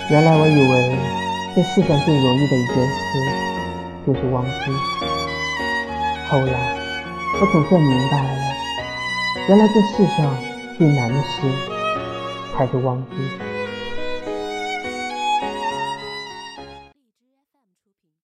原来我以为这世上最容易的一件事就是忘记，后来我总算明白了，原来这世上最难的事才是忘记。